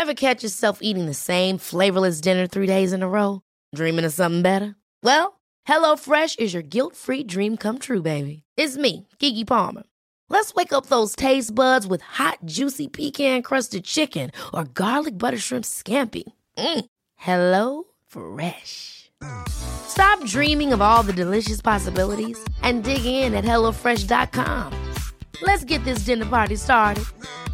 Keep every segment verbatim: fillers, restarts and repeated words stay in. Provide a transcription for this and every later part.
Ever catch yourself eating the same flavorless dinner three days in a row? Dreaming of something better? Well, HelloFresh is your guilt-free dream come true, baby. It's me, Keke Palmer. Let's wake up those taste buds with hot, juicy pecan-crusted chicken or garlic butter shrimp scampi. Mm. Hello Fresh. Stop dreaming of all the delicious possibilities and dig in at hello fresh dot com. Let's get this dinner party started.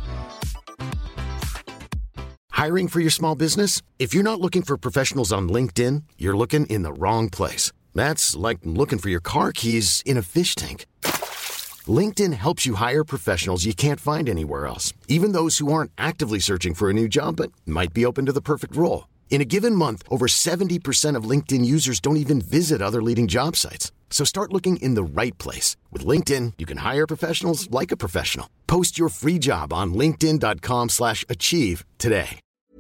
Hiring for your small business? If you're not looking for professionals on LinkedIn, you're looking in the wrong place. That's like looking for your car keys in a fish tank. LinkedIn helps you hire professionals you can't find anywhere else, even those who aren't actively searching for a new job but might be open to the perfect role. In a given month, over seventy percent of LinkedIn users don't even visit other leading job sites. So start looking in the right place. With LinkedIn, you can hire professionals like a professional. Post your free job on linkedin dot com slash achieve today.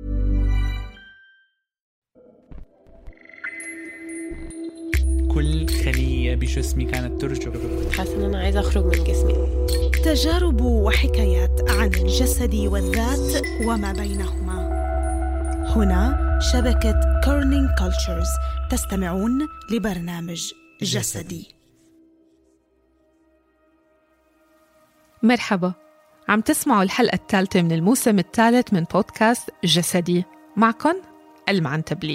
كل خلية بجسمي كانت ترجف. حاسة إن أنا عايزة أخرج من جسمي. تجارب وحكايات عن الجسد والذات وما بينهما. هنا شبكة كورنينج كولتشرز. تستمعون لبرنامج جسدي. مرحبا، عم تسمعوا الحلقة الثالثة من الموسم الثالث من بودكاست جسدي. معكن المعنتبلي.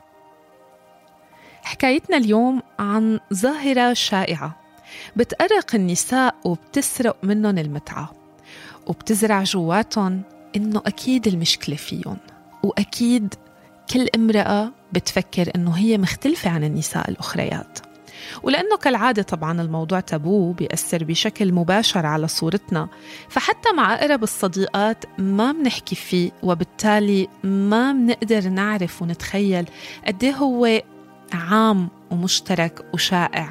حكايتنا اليوم عن ظاهرة شائعة بتأرق النساء وبتسرق منهم المتعة، وبتزرع جواتهم إنه أكيد المشكلة فيهم، وأكيد كل امرأة بتفكر إنه هي مختلفة عن النساء الأخريات. ولأنه كالعادة طبعاً الموضوع تابو بيأثر بشكل مباشر على صورتنا، فحتى مع أقرب الصديقات ما بنحكي فيه، وبالتالي ما بنقدر نعرف ونتخيل قد إيه هو عام ومشترك وشائع.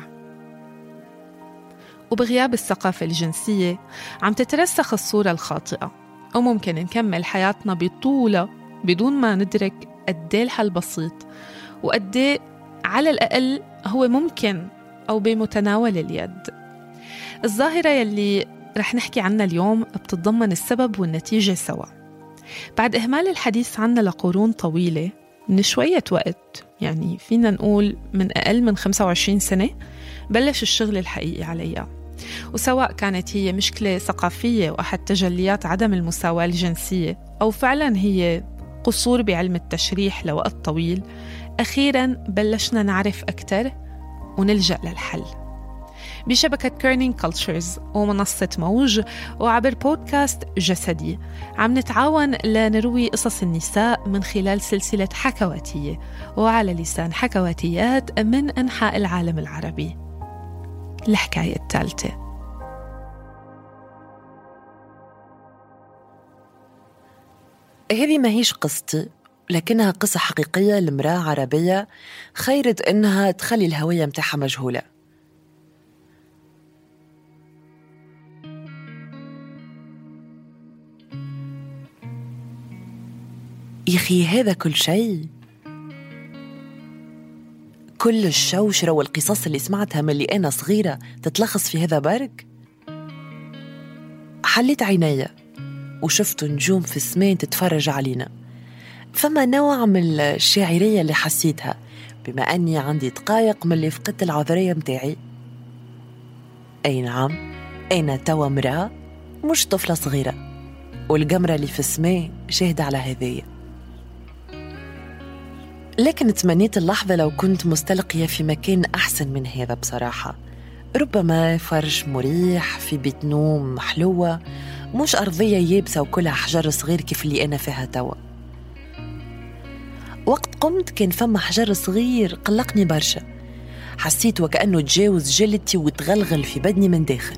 وبغياب الثقافة الجنسية عم تترسخ الصورة الخاطئة، وممكن نكمل حياتنا بطولة بدون ما ندرك قديه الحل بسيط، وقديه على الأقل هو ممكن أو بمتناول اليد. الظاهرة يلي رح نحكي عنها اليوم بتتضمن السبب والنتيجة سوا. بعد إهمال الحديث عنها لقرون طويلة، من شوية وقت، يعني فينا نقول من أقل من خمسة وعشرين سنة، بلش الشغل الحقيقي عليها. وسواء كانت هي مشكلة ثقافية وأحد تجليات عدم المساواة الجنسية، أو فعلا هي قصور بعلم التشريح لوقت طويل، أخيراً بلشنا نعرف أكتر ونلجأ للحل. بشبكة كورنينج كولتشرز ومنصة موج وعبر بودكاست جسدي عم نتعاون لنروي قصص النساء من خلال سلسلة حكواتية وعلى لسان حكواتيات من أنحاء العالم العربي. الحكاية الثالثة. هذه ما هيش قصتي، لكنها قصة حقيقية لامرأة عربية خيرت إنها تخلي الهوية متاعها مجهولة. يخي هذا كل شيء، كل الشوشرة والقصص اللي سمعتها من اللي أنا صغيرة تتلخص في هذا برك. حليت عيني وشفت نجوم في السماء تتفرج علينا. فما نوع من الشاعرية اللي حسيتها بما أني عندي دقايق من اللي فقدت العذرية متاعي. أي نعم، أنا توا امرأة مش طفلة صغيرة، والقمرة اللي في السماء شاهدة على هذية. لكن تمنيت اللحظة لو كنت مستلقية في مكان أحسن من هذا بصراحة، ربما فرش مريح في بيت نوم محلوة، مش أرضية يابسة وكلها حجر صغير كيف اللي أنا فيها توا. وقت قمت كان فما حجر صغير قلقني برشا، حسيت وكأنه تجاوز جلدتي وتغلغل في بدني من داخل.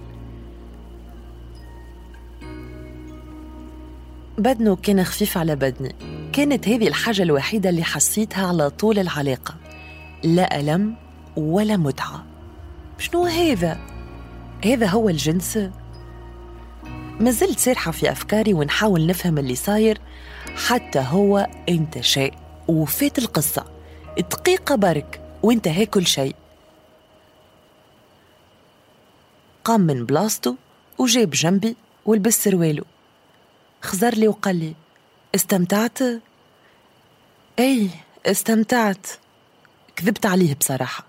بدنه كان خفيف على بدني، كانت هذه الحاجة الوحيدة اللي حسيتها على طول العلاقة، لا ألم ولا متعة. شنو هذا؟ هذا هو الجنس؟ ما زلت سارحة في أفكاري ونحاول نفهم اللي صاير، حتى هو انتشى وفات القصة دقيقة برك وانتهى كل شيء. قام من بلاصته وجاب جنبي ولبس سروالو، خزر لي وقال لي: استمتعت؟ أي استمتعت. كذبت عليه بصراحة.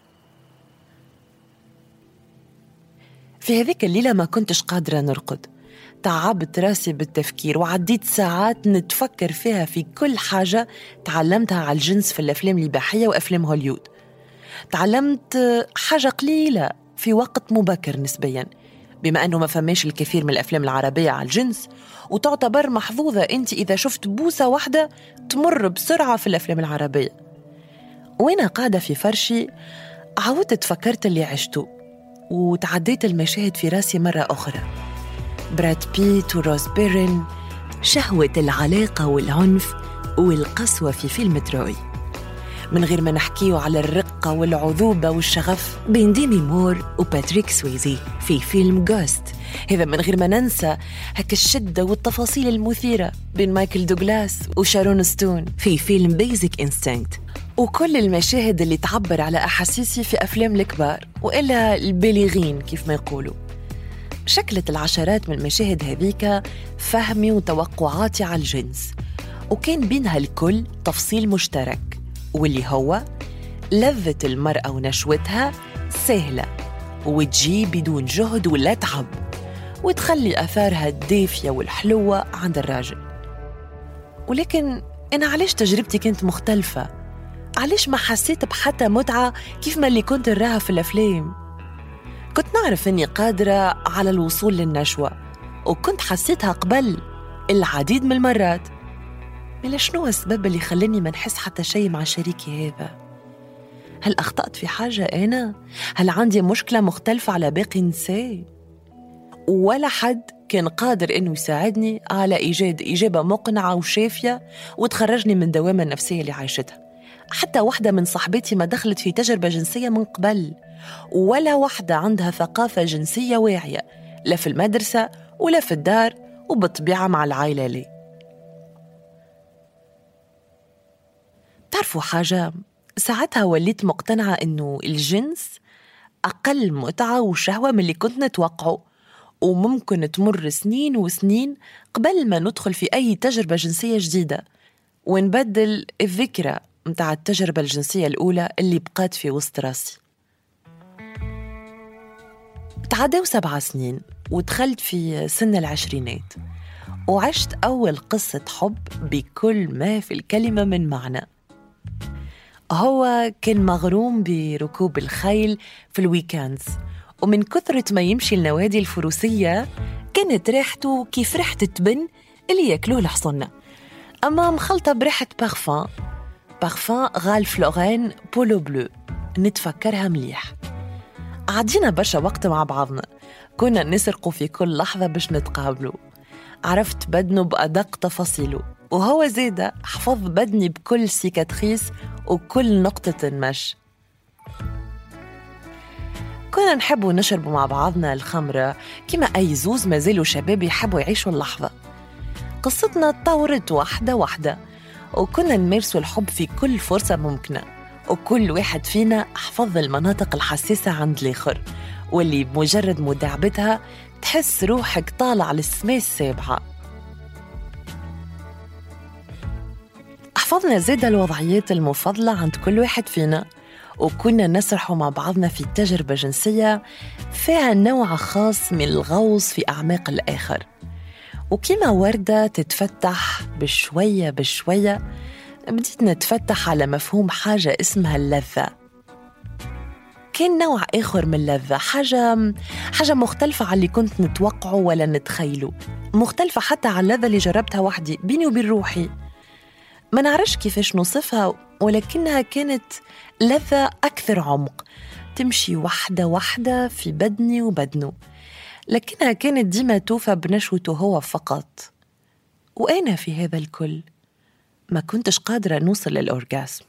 في هذيك الليلة ما كنتش قادرة نرقد، تعبت راسي بالتفكير وعديت ساعات نتفكر فيها في كل حاجة تعلمتها على الجنس في الأفلام الإباحية وأفلام هوليود. تعلمت حاجة قليلة في وقت مبكر نسبياً، بما أنه ما فماش الكثير من الأفلام العربية على الجنس، وتعتبر محظوظة أنت إذا شفت بوسة واحدة تمر بسرعة في الأفلام العربية. وأنا قاعدة في فرشي عودت تفكرت اللي عشته، وتعديت المشاهد في راسي مرة أخرى. براد بيت وروز بيرن، شهوة العلاقة والعنف والقسوة في فيلم تروي، من غير ما نحكيه على الرقة والعذوبة والشغف بين ديمي مور وباتريك سويزي في فيلم غوست. هذا من غير ما ننسى هك الشدة والتفاصيل المثيرة بين مايكل دوغلاس وشارون ستون في فيلم بيزك إنستينكت، وكل المشاهد اللي تعبر على أحاسيسي في أفلام الكبار وإلا البالغين كيف ما يقولوا. شكلت العشرات من المشاهد هذيك فهمي وتوقعاتي على الجنس، وكان بينها الكل تفصيل مشترك، واللي هو لذة المرأة ونشوتها سهلة وتجي بدون جهد ولا تعب، وتخلي أثارها الدافية والحلوة عند الراجل. ولكن أنا علاش تجربتي كانت مختلفة؟ علاش ما حسيت بحتى متعة كيف ما اللي كنت نراها في الأفلام؟ كنت نعرف أني قادرة على الوصول للنشوة، وكنت حسيتها قبل العديد من المرات. ملا شنو السبب اللي خلاني ما نحس حتى شيء مع شريكي هذا؟ هل أخطأت في حاجة أنا؟ هل عندي مشكلة مختلفة على باقي النساء؟ ولا حد كان قادر إنه يساعدني على إيجاد إجابة مقنعة وشافية وتخرجني من دوامة النفسية اللي عايشتها. حتى واحدة من صاحبتي ما دخلت في تجربة جنسية من قبل، ولا واحدة عندها ثقافة جنسية واعية، لا في المدرسة ولا في الدار، وبالطبيعة مع العائلة لي. تعرفوا حاجة؟ ساعتها وليت مقتنعة إنه الجنس أقل متعة وشهوة من اللي كنت نتوقعه، وممكن تمر سنين وسنين قبل ما ندخل في أي تجربة جنسية جديدة ونبدل الذكرى متاع التجربة الجنسية الأولى اللي بقات في وسط راسي. تعدوا سبع سنين ودخلت في سن العشرينات، وعشت أول قصة حب بكل ما في الكلمة من معنى. هو كان مغروم بركوب الخيل في الويكاندز، ومن كثرة ما يمشي النوادي الفروسية كانت ريحته كيف ريحة التبن اللي يأكلوه الحصنة، أما مخلطة بريحة بارفان بارفان غال فلورين بولو بلو. نتفكرها مليح. عدينا برشا وقت مع بعضنا، كنا نسرقوا في كل لحظة باش نتقابلوا. عرفت بدنه بأدق تفاصيله، وهو زيادة حفظ بدني بكل سيكاتريس وكل نقطة مش. كنا نحبوا نشربوا مع بعضنا الخمرة كما أي زوز ما زالوا شباب يحبوا يعيشوا اللحظة. قصتنا تطورت واحدة واحدة، وكنا نمارسوا الحب في كل فرصة ممكنة، وكل واحد فينا حفظ المناطق الحساسة عند الآخر، واللي بمجرد مداعبتها تحس روحك طالع للسماء السابعة. حفظنا زيادة الوضعيات المفضلة عند كل واحد فينا، وكنا نسرحوا مع بعضنا في تجربة جنسية فيها نوع خاص من الغوص في أعماق الآخر. وكما وردة تتفتح بشوية بشوية، بديت نتفتح على مفهوم حاجة اسمها اللذة. كان نوع آخر من اللذة، حاجة حاجة مختلفة على اللي كنت نتوقعه ولا نتخيله، مختلفة حتى على اللذة اللي جربتها وحدي بيني وبين روحي. ما نعرفش كيفاش نوصفها، ولكنها كانت لذة أكثر عمق، تمشي واحدة واحدة في بدني وبدنه، لكنها كانت ديما توفى بنشوته هو فقط، وأنا في هذا الكل ما كنتش قادرة نوصل للأورغاسم.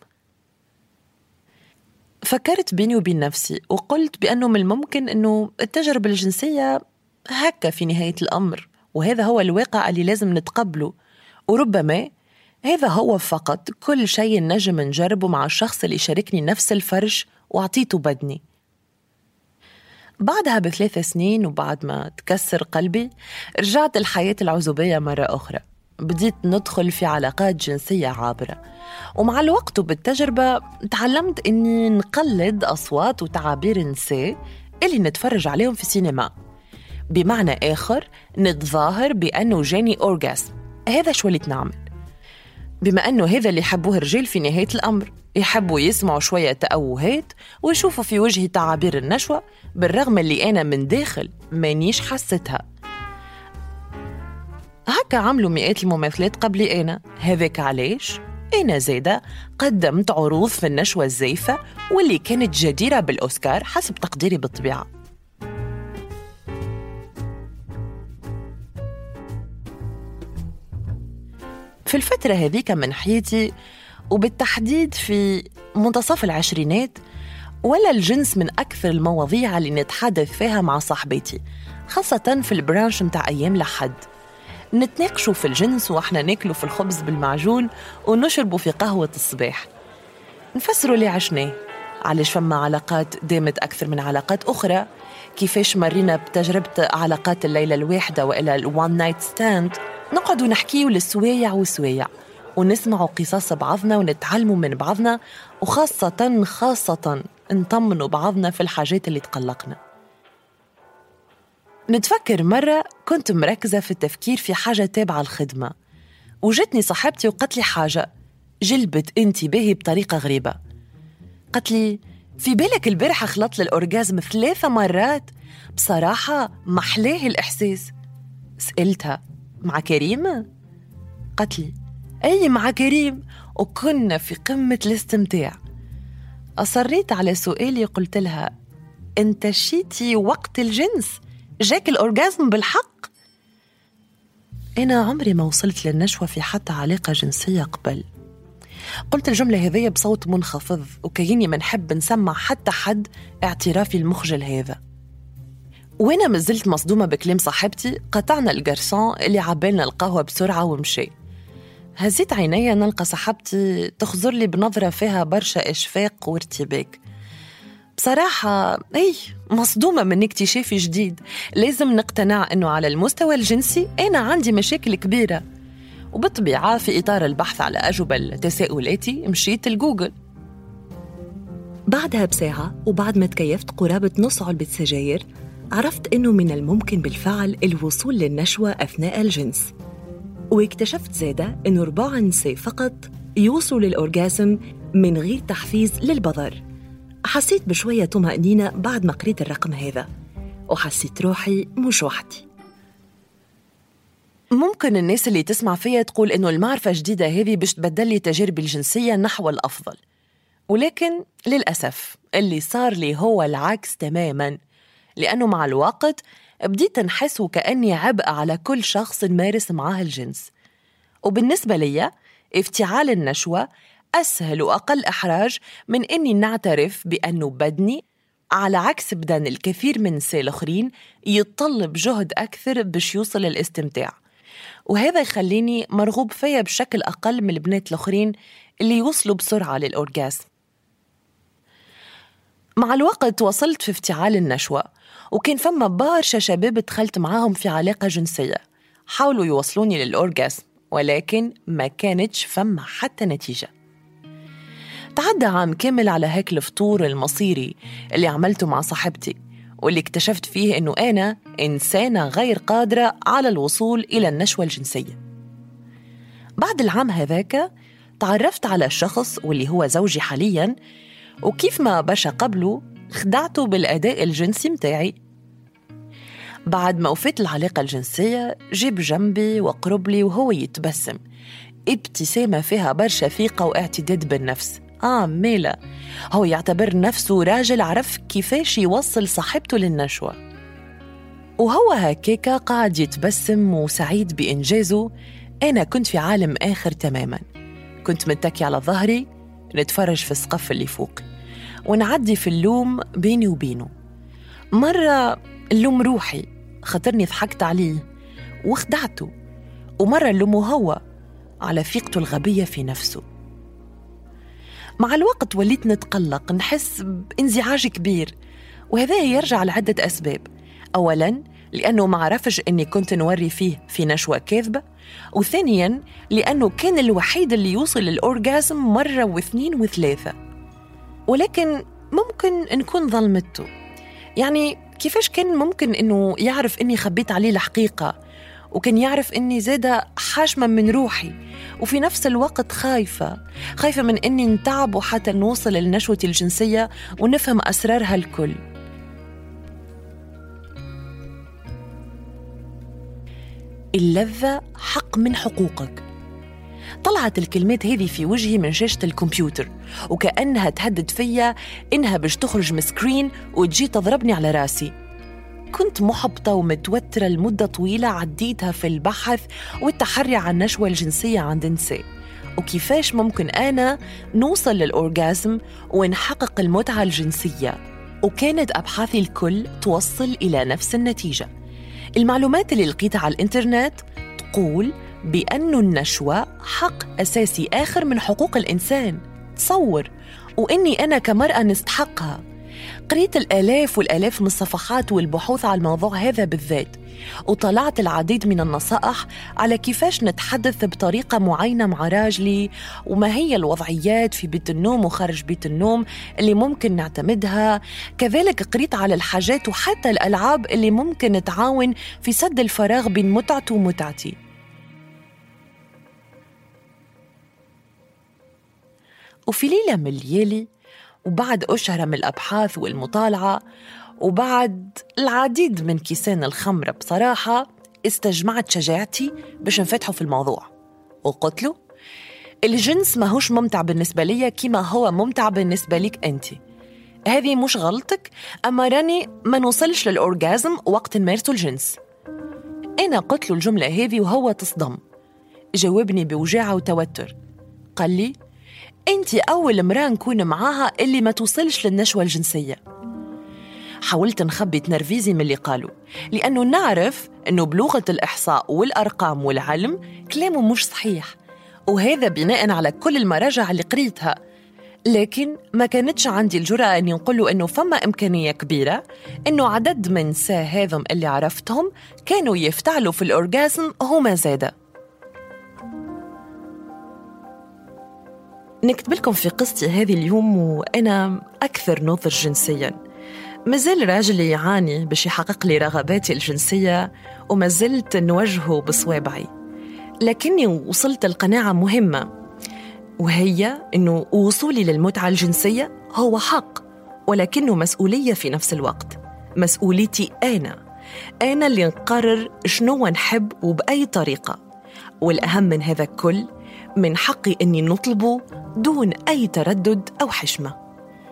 فكرت بيني وبين نفسي وقلت بأنه من الممكن أنه التجربة الجنسية هكا في نهاية الأمر، وهذا هو الواقع اللي لازم نتقبله، وربما هذا هو فقط كل شيء نجم نجربه مع الشخص اللي شاركني نفس الفرش وعطيته بدني. بعدها بثلاث سنين وبعد ما تكسر قلبي رجعت الحياة العزوبية مرة أخرى، بديت ندخل في علاقات جنسية عابرة، ومع الوقت وبالتجربة تعلمت أني نقلد أصوات وتعابير النساء اللي نتفرج عليهم في السينما. بمعنى آخر نتظاهر بأنه جاني أورغاسم. هذا شو اللي نعمل، بما أنه هذا اللي يحبوه الرجال في نهاية الأمر، يحبوا يسمعوا شوية تأوهات ويشوفوا في وجهي تعابير النشوة، بالرغم اللي أنا من داخل مانيش حستها. هكا عملوا مئات الممثلات قبلي أنا. هذاك علاش أنا زيادة قدمت عروض في النشوة الزيفة واللي كانت جديرة بالأوسكار حسب تقديري بالطبيعة. في الفترة هذيك من حياتي، وبالتحديد في منتصف العشرينات، ولا الجنس من أكثر المواضيع اللي نتحدث فيها مع صاحبتي، خاصة في البرانش متاع أيام لحد. نتناقشوا في الجنس وإحنا ناكلوا في الخبز بالمعجون ونشربوا في قهوة الصباح، نفسروا اللي عشناه، علاش فما علاقات دامت أكثر من علاقات أخرى، كيفاش مرينا بتجربة علاقات الليلة الواحدة وإلى الوان نايت ستاند. نقعدوا نحكيوا للسوايع وسوايع ونسمعوا قصص بعضنا ونتعلموا من بعضنا، وخاصة خاصة نطمنوا بعضنا في الحاجات اللي تقلقنا. نتفكر مرة كنت مركزة في التفكير في حاجة تابعة الخدمة، وجتني صاحبتي وقالت لي حاجة جلبت انتباهي بطريقة غريبة. قالت لي في بالك البارحة خلطت للأورجازم ثلاثة مرات؟ بصراحة محلاه الإحساس. سألتها مع كريم؟ قالت لي أي مع كريم، وكنا في قمة الاستمتاع. أصريت على سؤالي، قلت لها أنت شيتي وقت الجنس؟ جاك الأورجازم بالحق؟ أنا عمري ما وصلت للنشوة في حتى علاقة جنسية قبل. قلت الجملة هذية بصوت منخفض، وكأني ما نحب نسمع حتى حد اعترافي المخجل هذا. وأنا مازلت مصدومة بكلام صاحبتي، قطعنا الجرسون اللي عبالنا القهوة بسرعة ومشي. هزيت عيني نلقى صاحبتي تخزر لي بنظرة فيها برشا إشفاق وارتباك. بصراحة أي مصدومة من اكتشافي جديد. لازم نقتنع أنه على المستوى الجنسي أنا عندي مشاكل كبيرة، وبالطبيعة في إطار البحث على أجوبة لتساؤلاتي مشيت الجوجل. بعدها بساعة وبعد ما تكيفت قرابة نص علبة سجاير، عرفت أنه من الممكن بالفعل الوصول للنشوة أثناء الجنس. واكتشفت زادة أنه ربع النساء فقط يوصلوا للأورجازم من غير تحفيز للبظر. حسيت بشوية طمأنينة بعد ما قريت الرقم هذا، وحسيت روحي مش وحدي. ممكن الناس اللي تسمع فيها تقول إنه المعرفة الجديدة هذه باش تبدل لي تجاربي الجنسية نحو الأفضل، ولكن للأسف اللي صار لي هو العكس تماماً، لأنه مع الوقت بديت نحس وكأني عبء على كل شخص نمارس معاه الجنس. وبالنسبة لي افتعال النشوة أسهل وأقل إحراج من أني نعترف بأنه بدني، على عكس بدن الكثير من النساء الآخرين، يتطلب جهد أكثر باش يوصل للاستمتاع. وهذا يخليني مرغوب فيا بشكل أقل من البنات الآخرين اللي يوصلوا بسرعة للأورجازم. مع الوقت وصلت في افتعال النشوة، وكان فما برشا شباب دخلت معاهم في علاقة جنسية حاولوا يوصلوني للأورجازم، ولكن ما كانتش فما حتى نتيجة. تعدى عام كامل على هيك الفطور المصيري اللي عملته مع صاحبتي، واللي اكتشفت فيه إنه أنا إنسانة غير قادرة على الوصول إلى النشوة الجنسية. بعد العام هذاك تعرفت على الشخص واللي هو زوجي حالياً، وكيف ما بشا قبله خدعته بالأداء الجنسي متاعي. بعد ما وفيت العلاقة الجنسية جيب جنبي وقرب لي وهو يتبسم، ابتسامة فيها برشا ثقة واعتداد بالنفس. آه ميلا، هو يعتبر نفسه راجل عرف كيفاش يوصل صاحبته للنشوة، وهو هكاكا قاعد يتبسم وسعيد بإنجازه. أنا كنت في عالم آخر تماماً، كنت متكي على ظهري نتفرج في السقف اللي فوق ونعدي في اللوم بيني وبينه. مرة اللوم روحي خاطرني ضحكت عليه وخدعته، ومرة اللومه هو على ثقته الغبية في نفسه. مع الوقت وليت نتقلق، نحس بانزعاج كبير، وهذا يرجع لعدة أسباب. أولاً لأنه ما عرفش أني كنت نوري فيه في نشوة كاذبة، وثانياً لأنه كان الوحيد اللي يوصل للأورغازم مرة واثنين وثلاثة. ولكن ممكن نكون ظلمته، يعني كيفاش كان ممكن أنه يعرف أني خبيت عليه الحقيقة، وكان يعرف أني زادة حاشمة من روحي، وفي نفس الوقت خايفة خايفة من أني نتعب حتى نوصل للنشوة الجنسية ونفهم أسرارها الكل. اللذة حق من حقوقك. طلعت الكلمات هذه في وجهي من شاشة الكمبيوتر، وكأنها تهدد فيا إنها باش تخرج من سكرين وتجي تضربني على راسي. كنت محبطة ومتوترة لمدة طويلة عديتها في البحث والتحري عن النشوة الجنسية عند النساء، وكيفاش ممكن أنا نوصل للأورغازم ونحقق المتعة الجنسية. وكانت أبحاثي الكل توصل إلى نفس النتيجة. المعلومات اللي لقيتها على الإنترنت تقول بأن النشوة حق أساسي آخر من حقوق الإنسان. تصور، وإني أنا كمرأة نستحقها. قريت الآلاف والآلاف من الصفحات والبحوث على الموضوع هذا بالذات، وطلعت العديد من النصائح على كيفاش نتحدث بطريقة معينة مع راجلي، وما هي الوضعيات في بيت النوم وخارج بيت النوم اللي ممكن نعتمدها. كذلك قريت على الحاجات وحتى الألعاب اللي ممكن تعاون في سد الفراغ بين متعته ومتعتي. وفي ليلة من الليالي، وبعد أشهر من الأبحاث والمطالعة، وبعد العديد من كيسان الخمرة، بصراحة استجمعت شجاعتي باش نفتحه في الموضوع، وقلت له الجنس ما هوش ممتع بالنسبة لي كما هو ممتع بالنسبة لك أنت. هذه مش غلطك، أما راني ما نوصلش للأورغازم وقت نمارسوا الجنس. أنا قلت له الجملة هذه وهو تصدم. جاوبني بوجاعة وتوتر، قال لي أنت أول امرأة نكون معاها اللي ما توصلش للنشوة الجنسية. حاولت نخبي تنرفيزي من اللي قالوا، لأنه نعرف أنه بلغة الإحصاء والأرقام والعلم كلامه مش صحيح، وهذا بناء على كل المراجع اللي قريتها. لكن ما كانتش عندي الجرأة أني نقوله أنه فما إمكانية كبيرة أنه عدد من نساء هذم اللي عرفتهم كانوا يفتعلوا في الأورغازم هما زادة. نكتب لكم في قصتي هذه اليوم وأنا أكثر نضج جنسياً. مازال راجلي يعاني باش يحقق لي رغباتي الجنسية، وما زلت نواجهه بصوابعي، لكني وصلت القناعة مهمة، وهي أنه وصولي للمتعة الجنسية هو حق، ولكنه مسؤولية في نفس الوقت. مسؤوليتي أنا أنا اللي نقرر شنو نحب وبأي طريقة، والأهم من هذا الكل من حقي أني نطلبه دون أي تردد أو حشمة.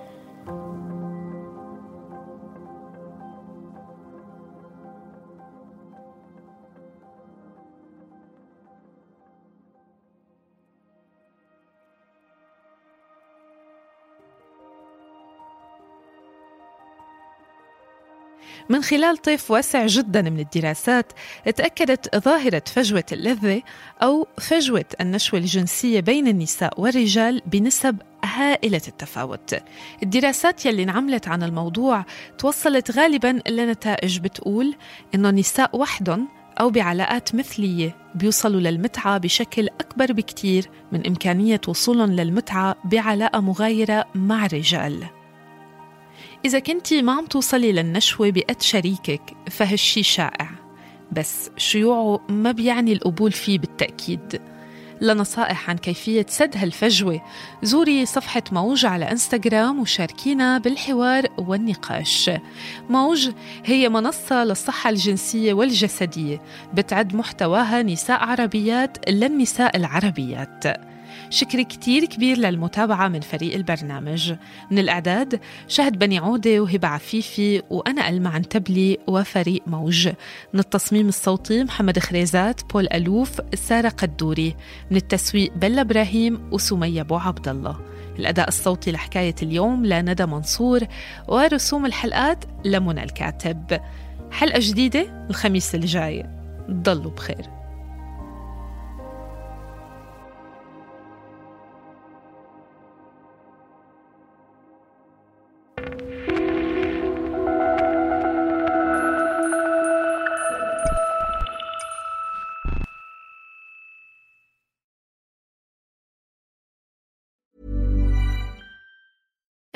من خلال طيف واسع جدا من الدراسات، تأكدت ظاهرة فجوة اللذة أو فجوة النشوة الجنسية بين النساء والرجال بنسب هائلة التفاوت. الدراسات يلي انعملت عن الموضوع توصلت غالباً لنتائج بتقول إنه النساء وحدهم أو بعلاقات مثلية بيوصلوا للمتعة بشكل أكبر بكتير من إمكانية وصولهم للمتعة بعلاقة مغايرة مع رجال. إذا كنتي ما عم توصلي للنشوة بقد شريكك فهالشي شائع، بس شيوعه ما بيعني القبول فيه بالتأكيد. لنصائح عن كيفية سد هالفجوة زوري صفحة موج على إنستغرام وشاركينا بالحوار والنقاش. موج هي منصة للصحة الجنسية والجسدية، بتعد محتواها نساء عربيات للنساء العربيات. شكر كتير كبير للمتابعة من فريق البرنامج. من الإعداد شهد بني عودة وهبة عفيفي وأنا ألمع عنتبلي وفريق موج. من التصميم الصوتي محمد خريزات، بول ألوف، سارة قدوري. من التسويق بلا إبراهيم وسمية بو عبد الله. الأداء الصوتي لحكاية اليوم لندى منصور، ورسوم الحلقات لمنى الكاتب. حلقة جديدة الخميس الجاي، ضلوا بخير.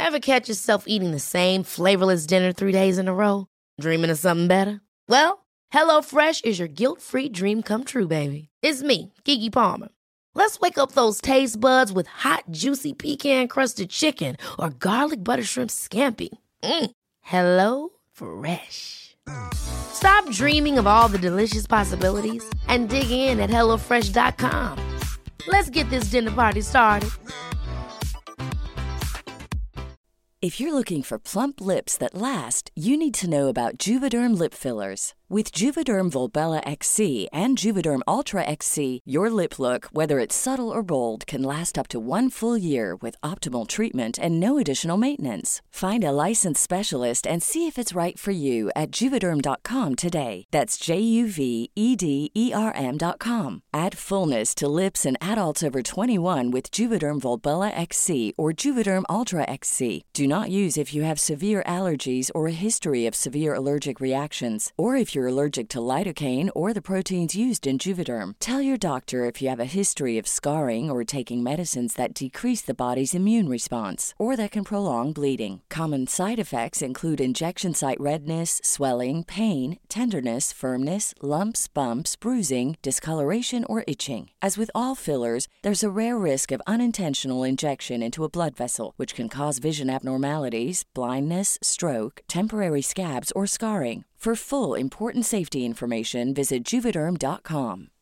Ever catch yourself eating the same flavorless dinner three days in a row? Dreaming of something better? Well, HelloFresh is your guilt-free dream come true, baby. It's me, Keke Palmer. Let's wake up those taste buds with hot, juicy pecan-crusted chicken or garlic butter shrimp scampi. Mm. Hello Fresh. Stop dreaming of all the delicious possibilities and dig in at hello fresh dot com. Let's get this dinner party started. If you're looking for plump lips that last, you need to know about Juvederm lip fillers. With Juvederm Volbella X C and Juvederm Ultra X C, your lip look, whether it's subtle or bold, can last up to one full year with optimal treatment and no additional maintenance. Find a licensed specialist and see if it's right for you at Juvederm dot com today. That's J U V E D E R M dot com. Add fullness to lips in adults over twenty-one with Juvederm Volbella X C or Juvederm Ultra X C. Do not use if you have severe allergies or a history of severe allergic reactions, or if you're allergic to lidocaine or the proteins used in Juvederm. Tell your doctor if you have a history of scarring or taking medicines that decrease the body's immune response or that can prolong bleeding. Common side effects include injection site redness, swelling, pain, tenderness, firmness, lumps, bumps, bruising, discoloration, or itching. As with all fillers, there's a rare risk of unintentional injection into a blood vessel, which can cause vision abnormalities, blindness, stroke, temporary scabs, or scarring. For full, important safety information, visit Juvederm dot com.